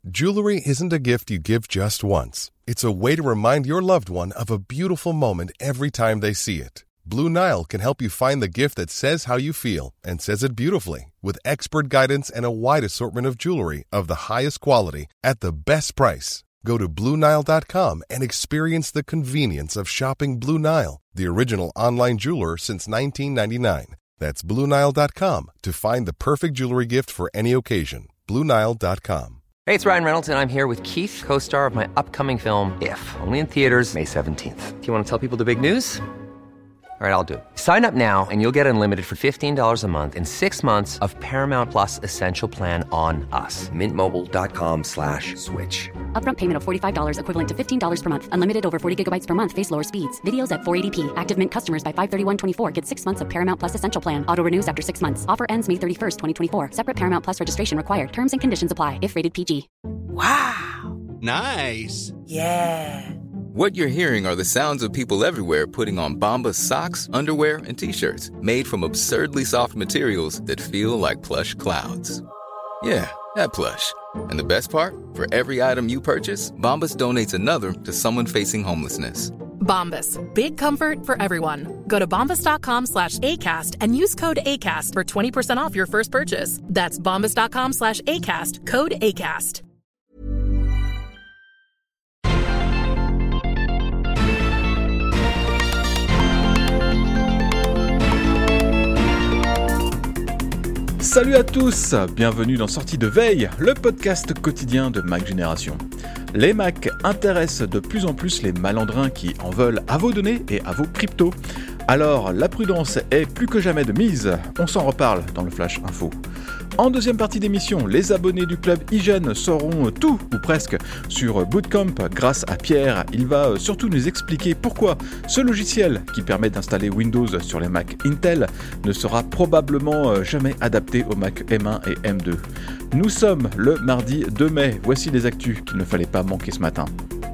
Jewelry isn't a gift you give just once. It's a way to remind your loved one of a beautiful moment every time they see it. Blue Nile can help you find the gift that says how you feel and says it beautifully, with expert guidance and a wide assortment of jewelry of the highest quality at the best price. Go to BlueNile.com and experience the convenience of shopping Blue Nile, the original online jeweler since 1999. That's BlueNile.com to find the perfect jewelry gift for any occasion. BlueNile.com. Hey, it's Ryan Reynolds, and I'm here with Keith, co-star of my upcoming film, If, only in theaters May 17th. Do you want to tell people the big news? All right, I'll do it. Sign up now and you'll get unlimited for $15 a month and 6 months of Paramount Plus Essential Plan on us. MintMobile.com/switch. Upfront payment of $45 equivalent to $15 per month. Unlimited over 40 gigabytes per month. Face lower speeds. Videos at 480p. Active Mint customers by 531.24 get 6 months of Paramount Plus Essential Plan. Auto renews after 6 months. Offer ends May 31st, 2024. Separate Paramount Plus registration required. Terms and conditions apply if rated PG. Wow. Nice. Yeah. What you're hearing are the sounds of people everywhere putting on Bombas socks, underwear, and T-shirts made from absurdly soft materials that feel like plush clouds. Yeah, that plush. And the best part? For every item you purchase, Bombas donates another to someone facing homelessness. Bombas. Big comfort for everyone. Go to bombas.com/ACAST and use code ACAST for 20% off your first purchase. That's bombas.com/ACAST. Code ACAST. Salut à tous, bienvenue dans Sortie de Veille, le podcast quotidien de Mac Génération. Les Macs intéressent de plus en plus les malandrins qui en veulent à vos données et à vos cryptos. Alors, la prudence est plus que jamais de mise, on s'en reparle dans le Flash Info. En deuxième partie d'émission, les abonnés du club IGEN sauront tout, ou presque, sur Bootcamp grâce à Pierre. Il va surtout nous expliquer pourquoi ce logiciel, qui permet d'installer Windows sur les Mac Intel, ne sera probablement jamais adapté aux Mac M1 et M2. Nous sommes le mardi 2 mai, voici les actus qu'il ne fallait pas manquer ce matin.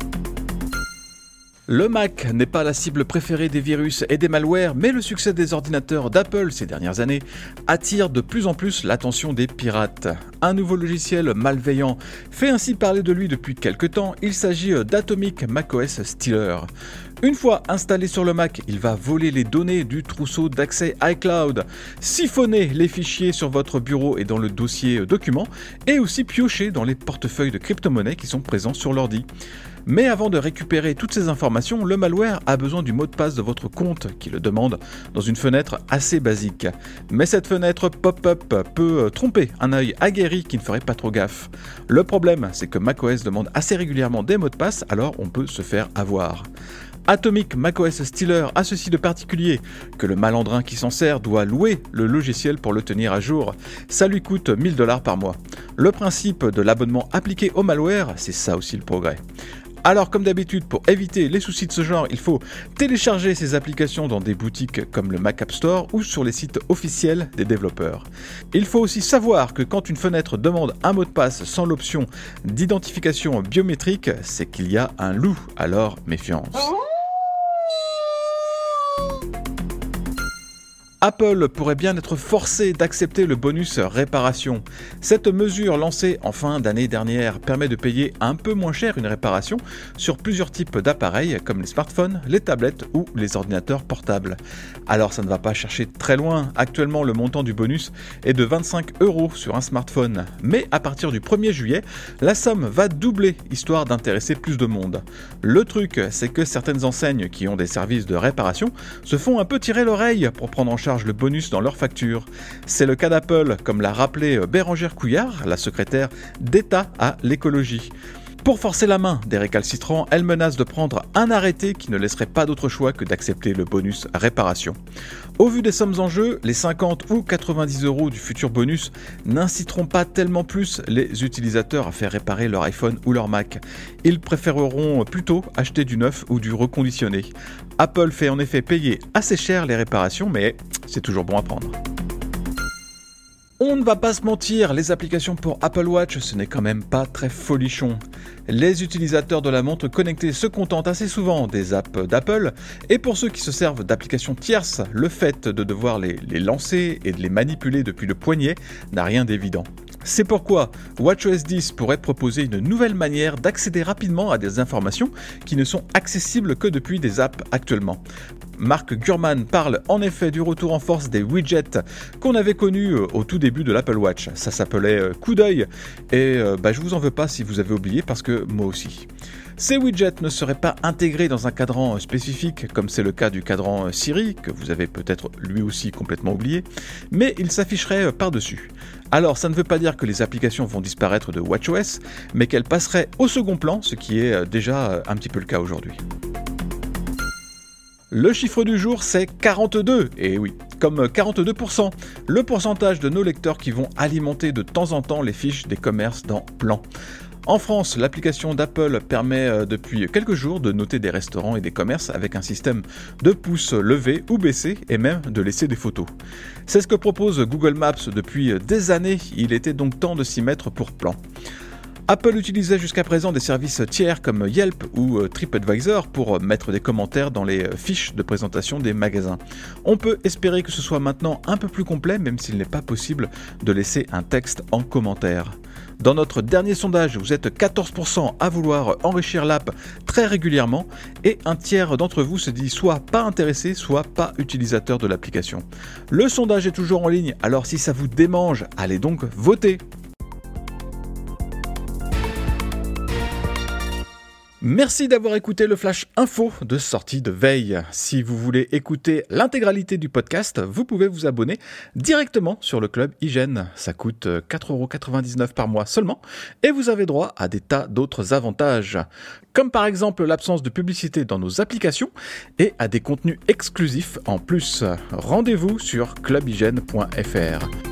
Le Mac n'est pas la cible préférée des virus et des malwares, mais le succès des ordinateurs d'Apple ces dernières années attire de plus en plus l'attention des pirates. Un nouveau logiciel malveillant fait ainsi parler de lui depuis quelques temps, il s'agit d'Atomic macOS Stealer. Une fois installé sur le Mac, il va voler les données du trousseau d'accès iCloud, siphonner les fichiers sur votre bureau et dans le dossier documents, et aussi piocher dans les portefeuilles de crypto-monnaies qui sont présents sur l'ordi. Mais avant de récupérer toutes ces informations, le malware a besoin du mot de passe de votre compte qui le demande dans une fenêtre assez basique. Mais cette fenêtre pop-up peut tromper un œil aguerri qui ne ferait pas trop gaffe. Le problème, c'est que macOS demande assez régulièrement des mots de passe, alors on peut se faire avoir. Atomic macOS Stealer a ceci de particulier que le malandrin qui s'en sert doit louer le logiciel pour le tenir à jour. Ça lui coûte $1000 par mois. Le principe de l'abonnement appliqué au malware, c'est ça aussi le progrès. Alors comme d'habitude, pour éviter les soucis de ce genre, il faut télécharger ces applications dans des boutiques comme le Mac App Store ou sur les sites officiels des développeurs. Il faut aussi savoir que quand une fenêtre demande un mot de passe sans l'option d'identification biométrique, c'est qu'il y a un loup, alors méfiance. Apple pourrait bien être forcé d'accepter le bonus réparation. Cette mesure lancée en fin d'année dernière permet de payer un peu moins cher une réparation sur plusieurs types d'appareils comme les smartphones, les tablettes ou les ordinateurs portables. Alors ça ne va pas chercher très loin. Actuellement, le montant du bonus est de 25 € sur un smartphone. Mais à partir du 1er juillet, la somme va doubler histoire d'intéresser plus de monde. Le truc, c'est que certaines enseignes qui ont des services de réparation se font un peu tirer l'oreille pour prendre en charge le bonus dans leur facture. C'est le cas d'Apple, comme l'a rappelé Bérangère Couillard, la secrétaire d'État à l'écologie. Pour forcer la main des récalcitrants, elle menace de prendre un arrêté qui ne laisserait pas d'autre choix que d'accepter le bonus réparation. Au vu des sommes en jeu, les 50 ou 90 € du futur bonus n'inciteront pas tellement plus les utilisateurs à faire réparer leur iPhone ou leur Mac. Ils préféreront plutôt acheter du neuf ou du reconditionné. Apple fait en effet payer assez cher les réparations, mais c'est toujours bon à prendre. On ne va pas se mentir, les applications pour Apple Watch, ce n'est quand même pas très folichon. Les utilisateurs de la montre connectée se contentent assez souvent des apps d'Apple, et pour ceux qui se servent d'applications tierces, le fait de devoir les lancer et de les manipuler depuis le poignet n'a rien d'évident. C'est pourquoi WatchOS 10 pourrait proposer une nouvelle manière d'accéder rapidement à des informations qui ne sont accessibles que depuis des apps actuellement. Mark Gurman parle en effet du retour en force des widgets qu'on avait connus au tout début de l'Apple Watch. Ça s'appelait coup d'œil et je vous en veux pas si vous avez oublié parce que moi aussi. Ces widgets ne seraient pas intégrés dans un cadran spécifique comme c'est le cas du cadran Siri, que vous avez peut-être lui aussi complètement oublié, mais ils s'afficheraient par-dessus. Alors ça ne veut pas dire que les applications vont disparaître de WatchOS, mais qu'elles passeraient au second plan, ce qui est déjà un petit peu le cas aujourd'hui. Le chiffre du jour, c'est 42, et oui, comme 42%, le pourcentage de nos lecteurs qui vont alimenter de temps en temps les fiches des commerces dans Plan. En France, l'application d'Apple permet depuis quelques jours de noter des restaurants et des commerces avec un système de pouces levés ou baissés et même de laisser des photos. C'est ce que propose Google Maps depuis des années, il était donc temps de s'y mettre pour Plan. Apple utilisait jusqu'à présent des services tiers comme Yelp ou TripAdvisor pour mettre des commentaires dans les fiches de présentation des magasins. On peut espérer que ce soit maintenant un peu plus complet, même s'il n'est pas possible de laisser un texte en commentaire. Dans notre dernier sondage, vous êtes 14% à vouloir enrichir l'app très régulièrement et un tiers d'entre vous se dit soit pas intéressé, soit pas utilisateur de l'application. Le sondage est toujours en ligne, alors si ça vous démange, allez donc voter. Merci d'avoir écouté le Flash Info de sortie de veille. Si vous voulez écouter l'intégralité du podcast, vous pouvez vous abonner directement sur le Club Hygiène. Ça coûte 4,99€ par mois seulement et vous avez droit à des tas d'autres avantages. Comme par exemple l'absence de publicité dans nos applications et à des contenus exclusifs en plus. Rendez-vous sur clubhygiène.fr.